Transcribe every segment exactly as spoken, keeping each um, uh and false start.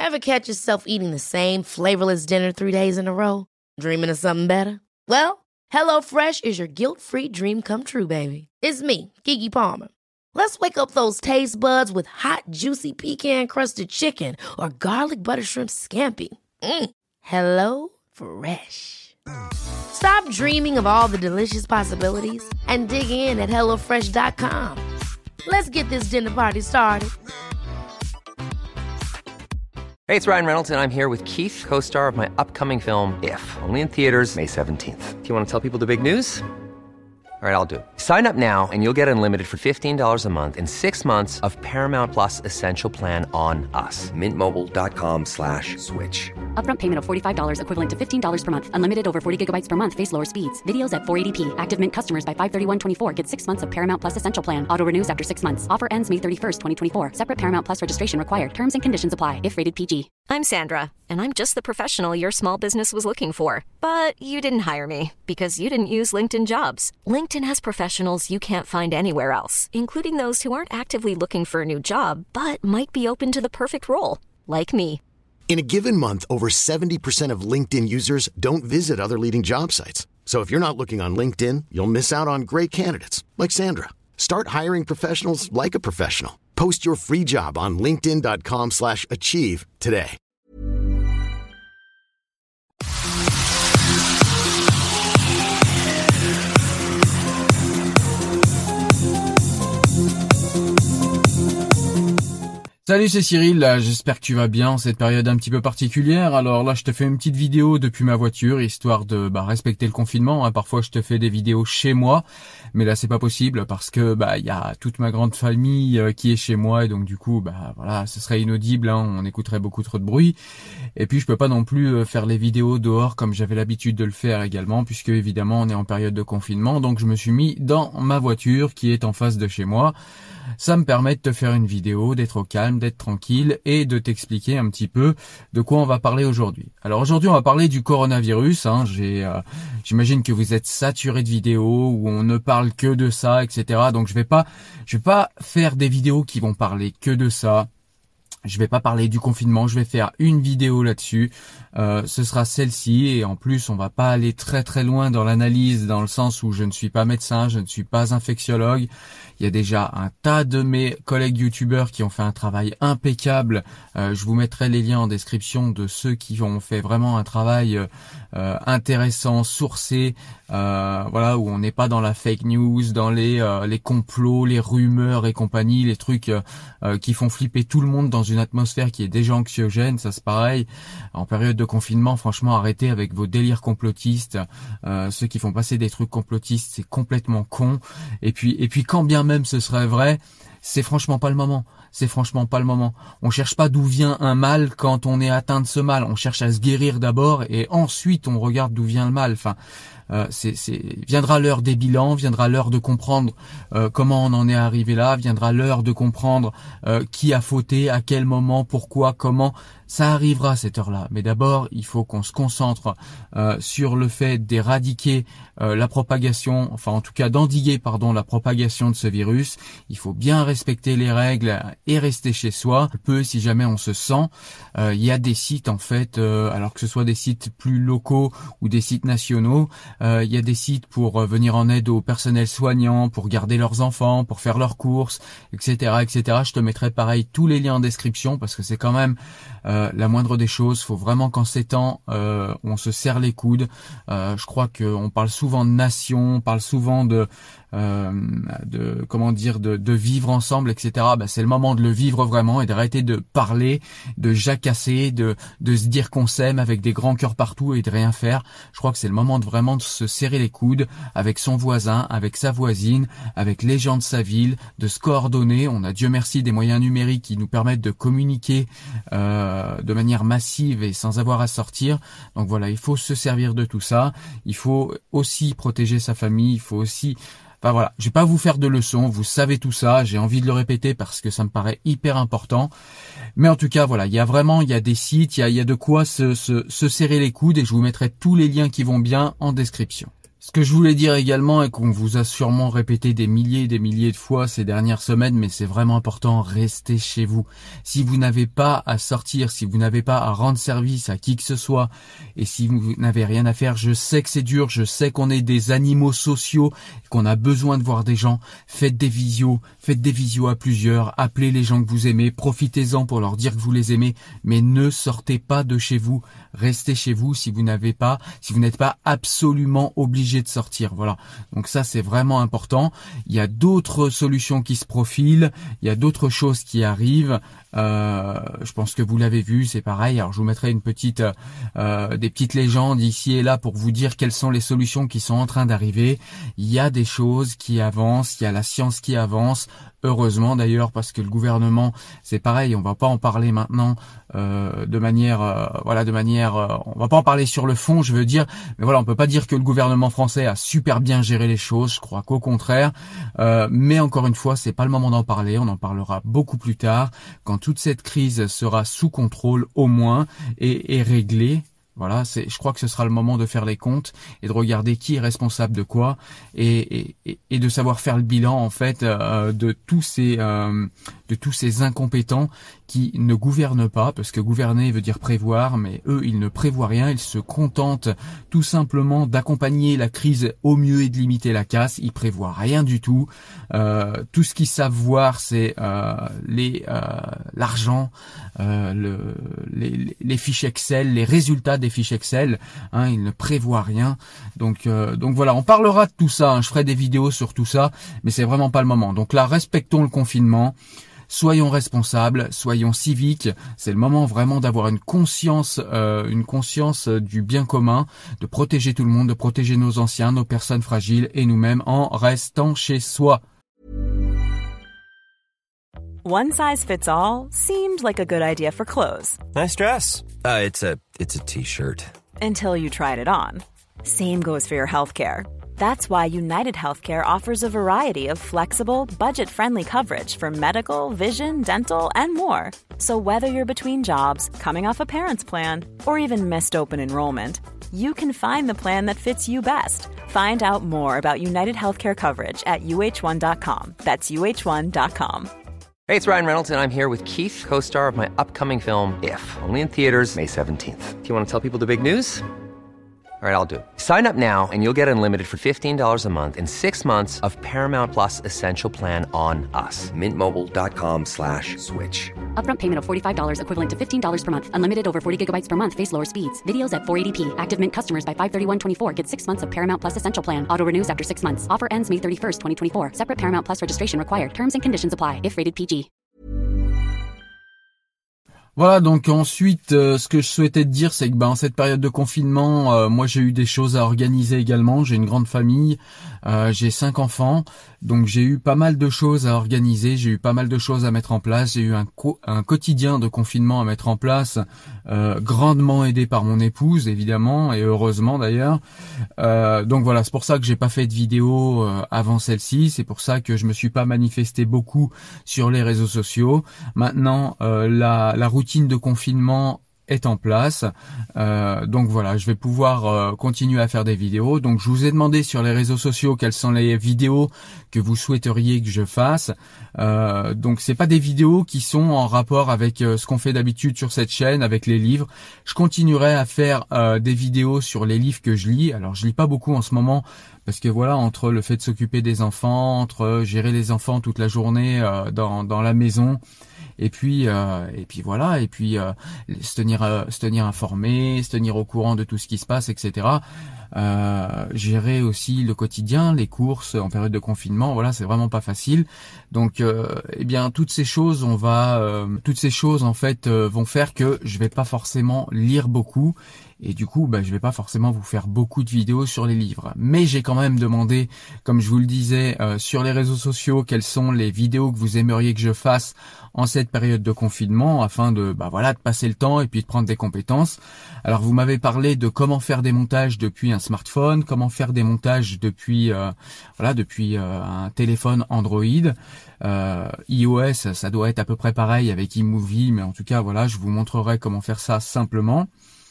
Ever catch yourself eating the same flavorless dinner three days in a row? Dreaming of something better? Well, HelloFresh is your guilt-free dream come true, baby. It's me, Keke Palmer. Let's wake up those taste buds with hot, juicy pecan-crusted chicken or garlic butter shrimp scampi. Mm. Hello Fresh. Stop dreaming of all the delicious possibilities and dig in at hello fresh dot com. Let's get this dinner party started. Hey, it's Ryan Reynolds, and I'm here with Keith, co-star of my upcoming film, If, only in theaters May seventeenth. Do you want to tell people the big news? All right, I'll do it. Sign up now and you'll get unlimited for fifteen dollars a month and six months of Paramount Plus Essential Plan on us. Mint Mobile dot com slash switch. Upfront payment of forty-five dollars equivalent to fifteen dollars per month. Unlimited over forty gigabytes per month. Face lower speeds. Videos at four eighty p. Active Mint customers by five thirty-one twenty-four get six months of Paramount Plus Essential Plan. Auto renews after six months. Offer ends May thirty-first, twenty twenty-four. Separate Paramount Plus registration required. Terms and conditions apply if rated P G. I'm Sandra, and I'm just the professional your small business was looking for. But you didn't hire me because you didn't use LinkedIn Jobs. LinkedIn has professionals you can't find anywhere else, including those who aren't actively looking for a new job, but might be open to the perfect role, like me. In a given month, over seventy percent of LinkedIn users don't visit other leading job sites. So if you're not looking on LinkedIn, you'll miss out on great candidates like Sandra. Start hiring professionals like a professional. Post your free job on linkedin dot com slash achieve today. Salut, c'est Cyril, là, j'espère que tu vas bien en cette période un petit peu particulière. Alors là, je te fais une petite vidéo depuis ma voiture, histoire de bah, respecter le confinement. Hein. Parfois, je te fais des vidéos chez moi, mais là, c'est pas possible parce que bah il y a toute ma grande famille euh, qui est chez moi et donc du coup, bah voilà, ce serait inaudible. Hein. On écouterait beaucoup trop de bruit. Et puis, je peux pas non plus euh, faire les vidéos dehors comme j'avais l'habitude de le faire également, puisque évidemment, on est en période de confinement. Donc, je me suis mis dans ma voiture qui est en face de chez moi. Ça me permet de te faire une vidéo, d'être au calme, d'être tranquille et de t'expliquer un petit peu de quoi on va parler aujourd'hui. Alors aujourd'hui, on va parler du coronavirus. Hein. J'ai, euh, j'imagine que vous êtes saturés de vidéos où on ne parle que de ça, et cetera. Donc je vais pas, je vais pas faire des vidéos qui vont parler que de ça. Je vais pas parler du confinement, je vais faire une vidéo là-dessus. Euh, ce sera celle-ci et en plus on va pas aller très très loin dans l'analyse dans le sens où je ne suis pas médecin, je ne suis pas infectiologue. Il y a déjà un tas de mes collègues youtubeurs qui ont fait un travail impeccable. Euh, je vous mettrai les liens en description de ceux qui ont fait vraiment un travail euh, intéressant, sourcé, euh, voilà, où on n'est pas dans la fake news, dans les euh, les complots, les rumeurs et compagnie, les trucs euh, euh, qui font flipper tout le monde dans une atmosphère qui est déjà anxiogène. Ça c'est pareil. En période de confinement, franchement, arrêtez avec vos délires complotistes. Euh, ceux qui font passer des trucs complotistes, c'est complètement con. Et puis, et puis quand bien même ce serait vrai, c'est franchement pas le moment. C'est franchement pas le moment. On cherche pas d'où vient un mal quand on est atteint de ce mal. On cherche à se guérir d'abord et ensuite on regarde d'où vient le mal. Enfin, euh, c'est, c'est, viendra l'heure des bilans, viendra l'heure de comprendre euh, comment on en est arrivé là, viendra l'heure de comprendre euh, qui a fauté, à quel moment, pourquoi, comment. Ça arrivera à cette heure-là. Mais d'abord, il faut qu'on se concentre euh, sur le fait d'éradiquer euh, la propagation, enfin en tout cas d'endiguer, pardon, la propagation de ce virus. Il faut bien respecter les règles et rester chez soi. Peu si jamais on se sent. Euh, il y a des sites en fait, euh, alors que ce soit des sites plus locaux ou des sites nationaux, euh, il y a des sites pour euh, venir en aide au personnel soignant, pour garder leurs enfants, pour faire leurs courses, et cetera, et cetera. Je te mettrai pareil tous les liens en description parce que c'est quand même euh, la moindre des choses. Faut vraiment qu'en ces temps, euh, on se serre les coudes. Euh, je crois qu'on parle souvent de nation, on parle souvent de Euh, de comment dire de, de vivre ensemble, et cetera. Bah, c'est le moment de le vivre vraiment et d'arrêter de parler, de jacasser, de de se dire qu'on s'aime avec des grands cœurs partout et de rien faire. Je crois que c'est le moment de vraiment de se serrer les coudes avec son voisin, avec sa voisine, avec les gens de sa ville, de se coordonner. On a Dieu merci des moyens numériques qui nous permettent de communiquer euh, de manière massive et sans avoir à sortir. Donc voilà, il faut se servir de tout ça. Il faut aussi protéger sa famille. Il faut aussi Enfin voilà, je vais pas vous faire de leçons, vous savez tout ça, j'ai envie de le répéter parce que ça me paraît hyper important. Mais en tout cas, voilà, il y a vraiment, il y a des sites, il y a, il y a de quoi se, se, se serrer les coudes et je vous mettrai tous les liens qui vont bien en description. Ce que je voulais dire également et qu'on vous a sûrement répété des milliers et des milliers de fois ces dernières semaines, mais c'est vraiment important, restez chez vous. Si vous n'avez pas à sortir, si vous n'avez pas à rendre service à qui que ce soit, et si vous n'avez rien à faire, je sais que c'est dur, je sais qu'on est des animaux sociaux, qu'on a besoin de voir des gens, faites des visios, faites des visios à plusieurs, appelez les gens que vous aimez, profitez-en pour leur dire que vous les aimez, mais ne sortez pas de chez vous, restez chez vous si vous n'avez pas, si vous n'êtes pas absolument obligé de sortir. Voilà. Donc ça, c'est vraiment important. Il y a d'autres solutions qui se profilent. Il y a d'autres choses qui arrivent. Euh, je pense que vous l'avez vu, c'est pareil. Alors je vous mettrai une petite, euh, des petites légendes ici et là pour vous dire quelles sont les solutions qui sont en train d'arriver. Il y a des choses qui avancent. Il y a la science qui avance. Heureusement d'ailleurs, parce que le gouvernement, c'est pareil, on va pas en parler maintenant euh, de manière, euh, voilà, de manière, euh, on va pas en parler sur le fond, je veux dire, mais voilà, on peut pas dire que le gouvernement français a super bien géré les choses. Je crois qu'au contraire. Euh, mais encore une fois, c'est pas le moment d'en parler. On en parlera beaucoup plus tard, quand toute cette crise sera sous contrôle au moins et, et réglée. Voilà, c'est, je crois que ce sera le moment de faire les comptes et de regarder qui est responsable de quoi et, et, et de savoir faire le bilan en fait euh, de tous ces euh, de tous ces incompétents qui ne gouvernent pas, parce que gouverner veut dire prévoir, mais eux ils ne prévoient rien, ils se contentent tout simplement d'accompagner la crise au mieux et de limiter la casse. Ils prévoient rien du tout. Euh, tout ce qu'ils savent voir, c'est euh, les euh, l'argent, euh, le, les, les fiches Excel, les résultats des fiches Excel, hein, ils ne prévoient rien. Donc euh, donc voilà, on parlera de tout ça, hein, je ferai des vidéos sur tout ça, mais c'est vraiment pas le moment. Donc là, respectons le confinement, soyons responsables, soyons civiques, c'est le moment vraiment d'avoir une conscience euh, une conscience du bien commun, de protéger tout le monde, de protéger nos anciens, nos personnes fragiles et nous-mêmes en restant chez soi. One size fits all seemed like a good idea for clothes. Nice dress. Uh, it's a it's a t-shirt. Until you tried it on. Same goes for your healthcare. That's why United Healthcare offers a variety of flexible, budget-friendly coverage for medical, vision, dental, and more. So whether you're between jobs, coming off a parent's plan, or even missed open enrollment, you can find the plan that fits you best. Find out more about United Healthcare coverage at U H one dot com. That's U H one dot com. Hey, it's Ryan Reynolds, and I'm here with Keith, co-star of my upcoming film, If, only in theaters May seventeenth. Do you want to tell people the big news? All right, I'll do it. Sign up now and you'll get unlimited for fifteen dollars a month and six months of Paramount Plus Essential Plan on us. Mint Mobile dot com slash switch. Upfront payment of forty-five dollars equivalent to fifteen dollars per month. Unlimited over forty gigabytes per month. Face lower speeds. Videos at four eighty p. Active Mint customers by five thirty-one twenty-four get six months of Paramount Plus Essential Plan. Auto renews after six months. Offer ends May thirty-first, twenty twenty-four. Separate Paramount Plus registration required. Terms and conditions apply if rated P G. Voilà, donc ensuite, euh, ce que je souhaitais te dire, c'est que ben, en cette période de confinement, euh, moi j'ai eu des choses à organiser également. J'ai une grande famille, euh, j'ai cinq enfants, donc j'ai eu pas mal de choses à organiser, j'ai eu pas mal de choses à mettre en place. J'ai eu un, co- un quotidien de confinement à mettre en place, euh, grandement aidé par mon épouse, évidemment, et heureusement d'ailleurs. Euh, donc voilà, c'est pour ça que j'ai pas fait de vidéo euh, avant celle-ci, c'est pour ça que je me suis pas manifesté beaucoup sur les réseaux sociaux. Maintenant, euh, la, la routine de confinement est en place, euh, donc voilà, je vais pouvoir euh, continuer à faire des vidéos. Donc je vous ai demandé sur les réseaux sociaux quelles sont les vidéos que vous souhaiteriez que je fasse. Euh, donc c'est pas des vidéos qui sont en rapport avec euh, ce qu'on fait d'habitude sur cette chaîne, avec les livres. Je continuerai à faire euh, des vidéos sur les livres que je lis. Alors je lis pas beaucoup en ce moment, parce que voilà, entre le fait de s'occuper des enfants, entre gérer les enfants toute la journée euh, dans, dans la maison, et puis euh, et puis voilà, et puis euh, se tenir euh, se tenir informé, se tenir au courant de tout ce qui se passe, et cetera. Euh, gérer aussi le quotidien, les courses en période de confinement, voilà, c'est vraiment pas facile. Donc euh, eh bien toutes ces choses, on va euh, toutes ces choses en fait euh, vont faire que je vais pas forcément lire beaucoup. Et du coup, bah, je vais pas forcément vous faire beaucoup de vidéos sur les livres. Mais j'ai quand même demandé, comme je vous le disais, euh, sur les réseaux sociaux, quelles sont les vidéos que vous aimeriez que je fasse en cette période de confinement, afin de, bah voilà, de passer le temps et puis de prendre des compétences. Alors, vous m'avez parlé de comment faire des montages depuis un smartphone, comment faire des montages depuis, euh, voilà, depuis euh, un téléphone Android. Euh, iOS, ça doit être à peu près pareil avec iMovie, mais en tout cas, voilà, je vous montrerai comment faire ça simplement.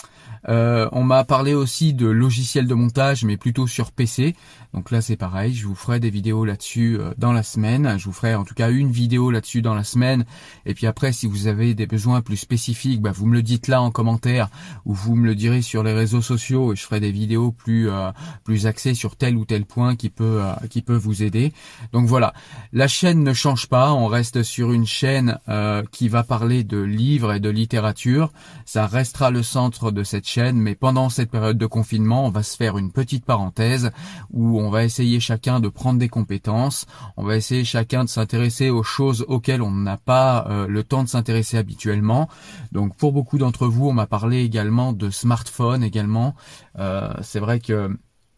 Euh, on m'a parlé aussi de logiciels de montage, mais plutôt sur P C. Donc là, c'est pareil. Je vous ferai des vidéos là-dessus euh, dans la semaine. Je vous ferai en tout cas une vidéo là-dessus dans la semaine. Et puis après, si vous avez des besoins plus spécifiques, bah, vous me le dites là en commentaire ou vous me le direz sur les réseaux sociaux et je ferai des vidéos plus euh, plus axées sur tel ou tel point qui peut euh, qui peut vous aider. Donc voilà, la chaîne ne change pas. On reste sur une chaîne euh, qui va parler de livres et de littérature. Ça restera le centre de cette chaîne, mais pendant cette période de confinement, on va se faire une petite parenthèse où on va essayer chacun de prendre des compétences. On va essayer chacun de s'intéresser aux choses auxquelles on n'a pas euh, le temps de s'intéresser habituellement. Donc pour beaucoup d'entre vous, on m'a parlé également de smartphone également. Euh, c'est vrai que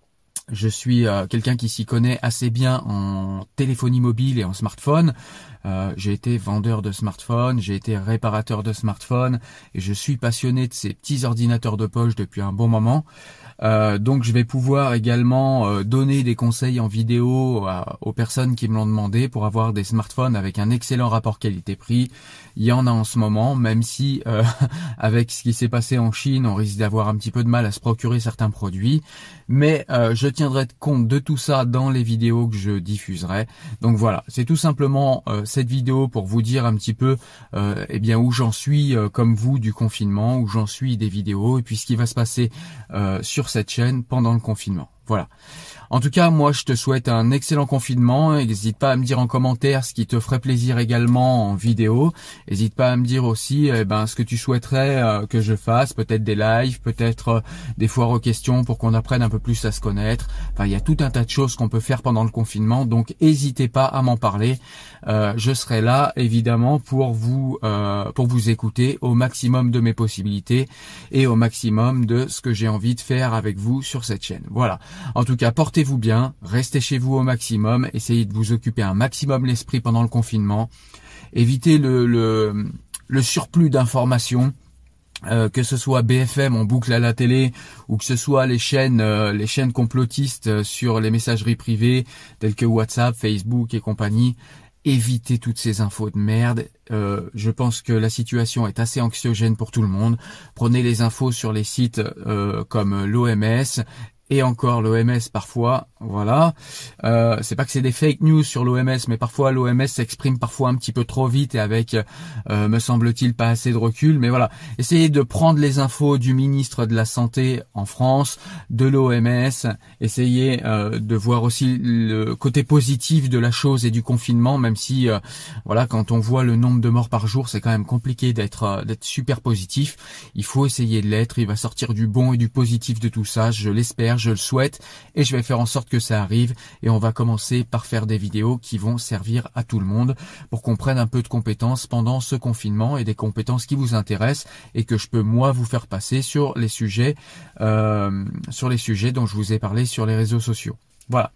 je suis euh, quelqu'un qui s'y connaît assez bien en téléphonie mobile et en smartphone. Euh, j'ai été vendeur de smartphone, j'ai été réparateur de smartphone et je suis passionné de ces petits ordinateurs de poche depuis un bon moment. Euh, donc je vais pouvoir également euh, donner des conseils en vidéo à, aux personnes qui me l'ont demandé pour avoir des smartphones avec un excellent rapport qualité-prix. Il y en a en ce moment, même si euh, avec ce qui s'est passé en Chine, on risque d'avoir un petit peu de mal à se procurer certains produits. Mais euh, je tiendrai compte de tout ça dans les vidéos que je diffuserai. Donc voilà, c'est tout simplement euh, cette vidéo pour vous dire un petit peu euh, eh bien où j'en suis euh, comme vous du confinement, où j'en suis des vidéos et puis ce qui va se passer euh, sur cette chaîne pendant le confinement. Voilà. En tout cas, moi, je te souhaite un excellent confinement. N'hésite pas à me dire en commentaire ce qui te ferait plaisir également en vidéo. N'hésite pas à me dire aussi eh ben, ce que tu souhaiterais euh, que je fasse. Peut-être des lives, peut-être euh, des foires aux questions pour qu'on apprenne un peu plus à se connaître. Enfin, il y a tout un tas de choses qu'on peut faire pendant le confinement. Donc, n'hésitez pas à m'en parler. Euh, je serai là, évidemment, pour vous, euh, pour vous écouter au maximum de mes possibilités et au maximum de ce que j'ai envie de faire avec vous sur cette chaîne. Voilà. En tout cas, portez-vous bien, restez chez vous au maximum, essayez de vous occuper un maximum l'esprit pendant le confinement, évitez le, le, le surplus d'informations, euh, que ce soit B F M en boucle à la télé ou que ce soit les chaînes, euh, les chaînes complotistes sur les messageries privées telles que WhatsApp, Facebook et compagnie. Évitez toutes ces infos de merde. Euh, je pense que la situation est assez anxiogène pour tout le monde. Prenez les infos sur les sites euh, comme l'O M S. Et encore l'O M S parfois, voilà. Euh, c'est pas que c'est des fake news sur l'O M S, mais parfois l'O M S s'exprime parfois un petit peu trop vite et avec, euh, me semble-t-il, pas assez de recul. Mais voilà, essayez de prendre les infos du ministre de la Santé en France, de l'O M S. Essayez euh, de voir aussi le côté positif de la chose et du confinement, même si, euh, voilà, quand on voit le nombre de morts par jour, c'est quand même compliqué d'être euh, d'être super positif. Il faut essayer de l'être. Il va sortir du bon et du positif de tout ça, je l'espère. Je le souhaite et je vais faire en sorte que ça arrive et on va commencer par faire des vidéos qui vont servir à tout le monde pour qu'on prenne un peu de compétences pendant ce confinement et des compétences qui vous intéressent et que je peux moi vous faire passer sur les sujets euh, sur les sujets dont je vous ai parlé sur les réseaux sociaux. Voilà.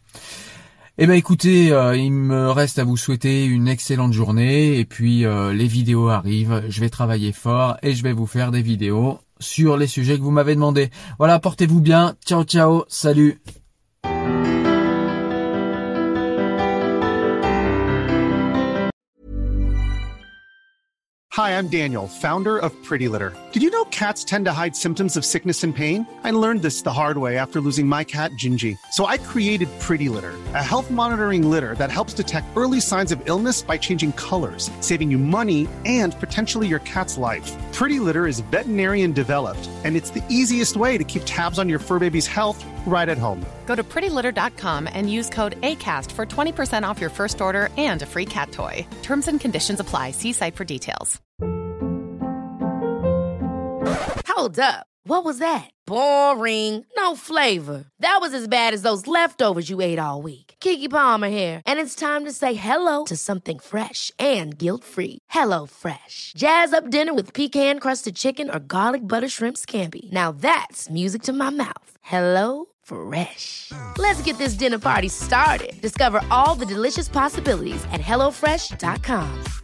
Eh ben écoutez, euh, il me reste à vous souhaiter une excellente journée et puis euh, les vidéos arrivent, je vais travailler fort et je vais vous faire des vidéos sur les sujets que vous m'avez demandé. Voilà, portez-vous bien. Ciao, ciao. Salut. Hi, I'm Daniel, founder of Pretty Litter. Did you know cats tend to hide symptoms of sickness and pain? I learned this the hard way after losing my cat, Gingy. So I created Pretty Litter, a health monitoring litter that helps detect early signs of illness by changing colors, saving you money and potentially your cat's life. Pretty Litter is veterinarian developed, and it's the easiest way to keep tabs on your fur baby's health right at home. Go to pretty litter dot com and use code ACAST for twenty percent off your first order and a free cat toy. Terms and conditions apply. See site for details. Hold up. What was that? Boring. No flavor. That was as bad as those leftovers you ate all week. Keke Palmer here, and it's time to say hello to something fresh and guilt-free. Hello Fresh. Jazz up dinner with pecan-crusted chicken or garlic butter shrimp scampi. Now that's music to my mouth. Hello Fresh. Let's get this dinner party started. Discover all the delicious possibilities at hello fresh dot com.